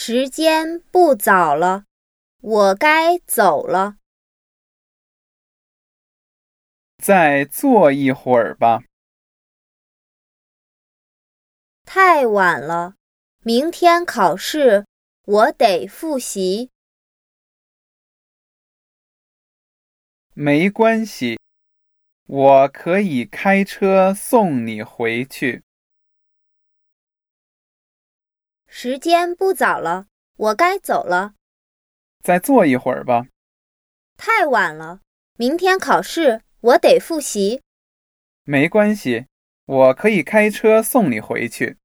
时间不早了，我该走了。 再坐一会儿吧。 太晚了，明天考试，我得复习。 没关系，我可以开车送你回去。 时间不早了，我该走了。 再坐一会儿吧。 太晚了，明天考试，我得复习。 没关系，我可以开车送你回去。